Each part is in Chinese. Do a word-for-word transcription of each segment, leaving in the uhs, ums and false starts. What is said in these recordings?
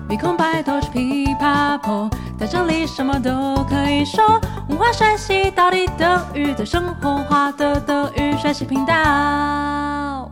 鼻孔白頭是噼啪破，在這裡什麼都可以說。文化學習到底德語最生活化的德語學習頻道。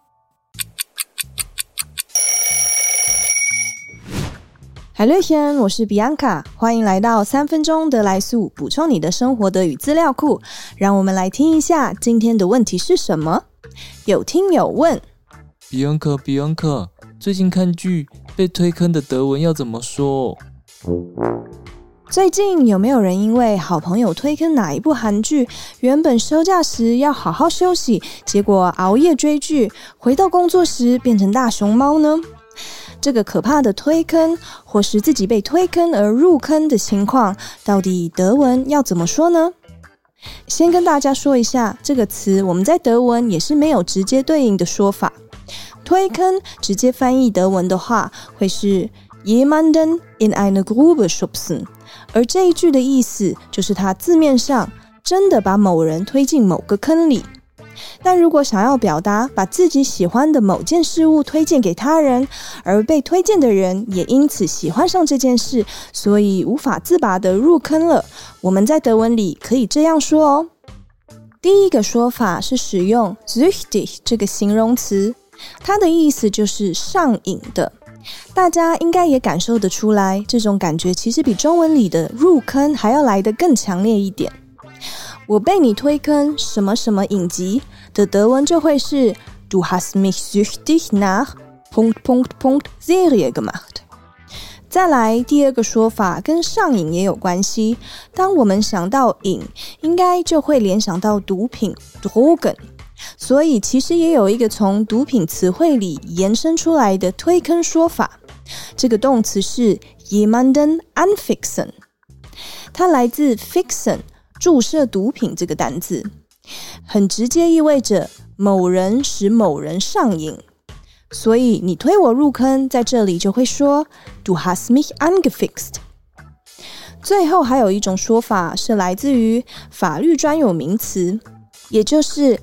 Hallöchen，我是 Bianca， 歡迎來到三分鐘德來速，補充你的生活德語資料庫。讓我們來聽一下今天的問題是什麼？有聽友問 Bianca Bianca， 最近看劇被推坑的德文要怎麼說？ 最近有沒有人因為好朋友推坑哪一部韓劇，原本休假時要好好休息，結果熬夜追劇，回到工作時變成大熊貓呢？這個可怕的推坑，或是自己被推坑而入坑的情況，到底德文要怎麼說呢？先跟大家說一下，這個詞我們在德文也是沒有直接對應的說法。推坑直接翻譯德文的話，會是 jemanden in eine Grube schubsen， 而這一句的意思就是他字面上真的把某人推進某個坑裡。但如果想要表達把自己喜歡的某件事物推薦給他人，而被推薦的人也因此喜歡上這件事，所以無法自拔的入坑了，我們在德文裡可以這樣說哦。第一個說法是使用 süchtig 這個形容詞，它的意思就是上癮的。大家應該也感受得出來，這種感覺其實比中文裡的入坑還要來得更強烈一點。我被你推坑什麼什麼影集的德文就會是 Du hast mich süchtig nach Punkt Punkt Punkt Serie gemacht。再來第二個說法跟上癮也有關係，當我們想到癮，應該就會聯想到毒品 Drogen， 所以其實也有一個從毒品詞彙裡延伸出來的推坑說法，這個動詞是 jemanden anfixen， 它來自 fixen，注射毒品這個單字，很直接意味着某人使某人上癮，所以你推我入坑，在這裡就會說 Du hast mich angefixt。 最後還有一種說法是來自於法律專有名詞，也就是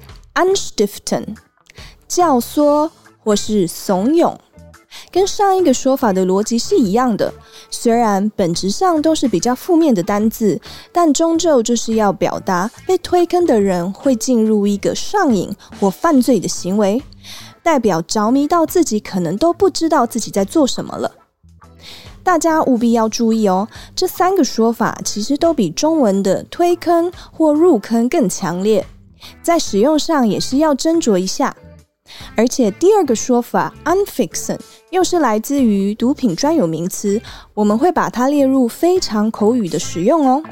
anstiften， 教唆或是慫恿，跟上一個說法的邏輯是一樣的，雖然本質上都是比較負面的單字，但終究就是要表達被推坑的人會進入一個上癮或犯罪的行為，代表着迷到自己可能都不知道自己在做什麼了。大家務必要注意哦，這三個說法其實都比中文的推坑或入坑更強烈，在使用上也是要斟酌一下。而且第二個說法 anfixen 又是來自於毒品專有名詞，我們會把它列入非常口語的使用哦。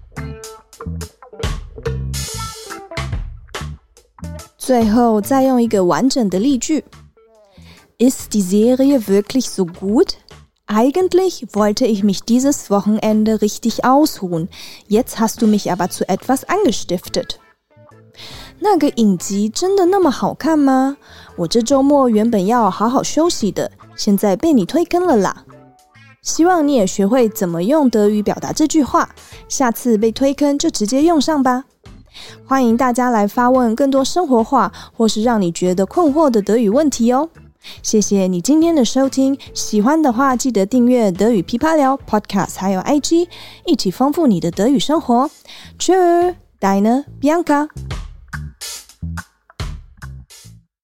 最後再用一個完整的例句 Ist die Serie wirklich so gut? Eigentlich wollte ich mich dieses Wochenende richtig ausruhen. Jetzt hast du mich aber zu etwas angestiftet.那個影集真的那麼好看嗎？我這週末原本要好好休息的，現在被你推坑了啦。希望你也學會怎麼用德語表達這句話，下次被推坑就直接用上吧。歡迎大家來發問更多生活化或是讓你覺得困惑的德語問題哦。謝謝你今天的收聽，喜歡的話記得訂閱德語噼啪聊 Podcast 還有 I G， 一起豐富你的德語生活。Tschö，Deine Bianca。